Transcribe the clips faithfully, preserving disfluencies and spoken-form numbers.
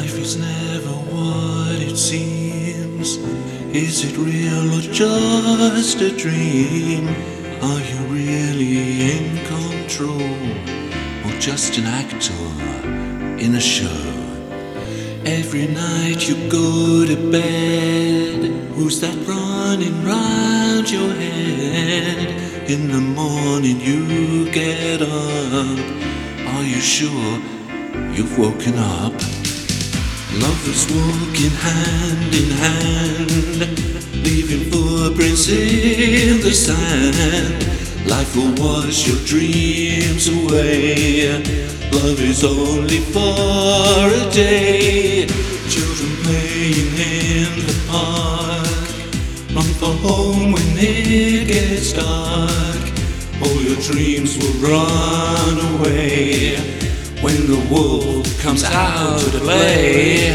Life is never what it seems. Is it real or just a dream? Are you really in control, or just an actor in a show? Every night you go to bed, who's that running round your head? In the morning you get up, are you sure you've woken up? Lovers walking hand in hand, leaving footprints in the sand. Life will wash your dreams away. Love is only for a day. Children playing in the park, run for home when it gets dark. All your dreams will run away when the wolf comes out to play.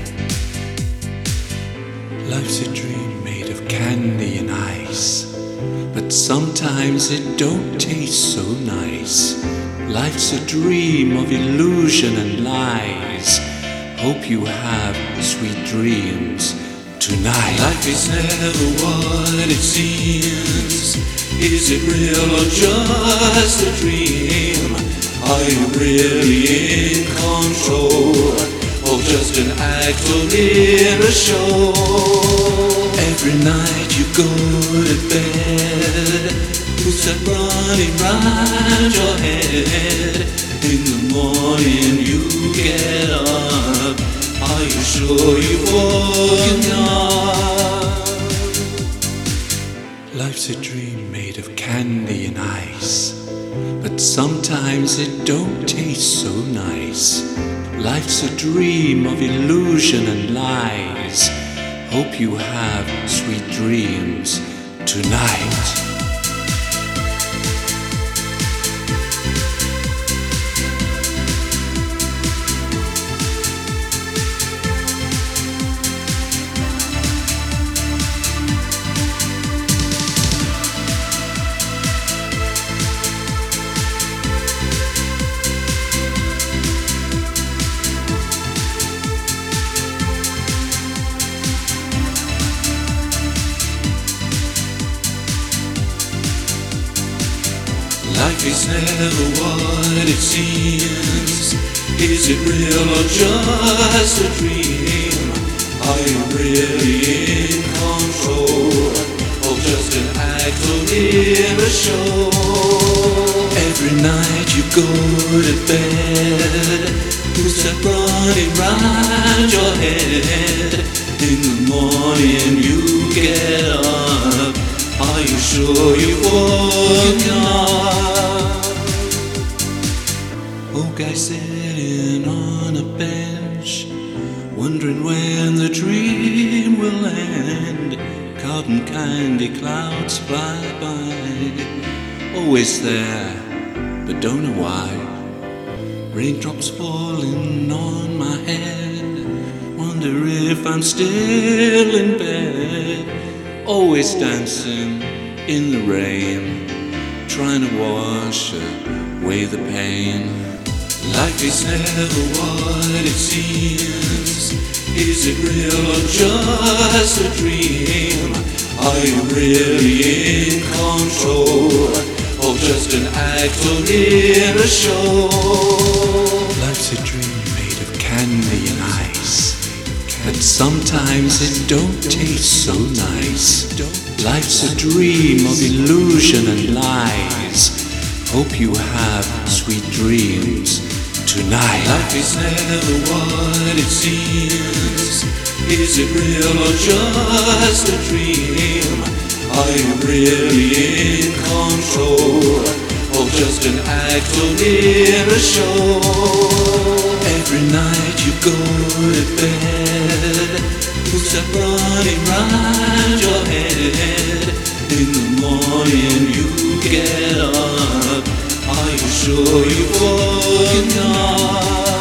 Life's a dream made of candy and ice, but sometimes it don't taste so nice. Life's a dream of illusion and lies. Hope you have sweet dreams tonight. Life is never what it seems. Is it real or just a dream? Are you really in control, or just an actor in a show? Every night you go to bed, who's that running round your head? In the morning you get up, are you sure you've woken up? Life's a dream made of candy and ice, but sometimes it don't taste so nice. Life's a dream of illusion and lies. Hope you have sweet dreams tonight. Life is never what it seems. Is it real or just a dream? Are you really in control, or just an actor in a show? Every night you go to bed, who's that running round your head? In the morning you get up, are you sure you've woken up? Old guy sitting on a bench, wondering when the dream will end. Cotton candy clouds fly by, always there, but don't know why. Raindrops falling on my head, wonder if I'm still in bed. Always dancing in the rain, trying to wash away the pain. Life is never what it seems. Is it real or just a dream? Are you really in control, or just an actor in a show? Life's a dream made of candy and ice, but sometimes it don't taste so nice. Life's a dream of illusion and lies. Hope you have sweet dreams tonight. Life is never what it seems. Is it real or just a dream? Are you really in control, or just an actor in a show? Every night you go to bed, who's that running round your head? In the morning you get up, are you sure you've woken up?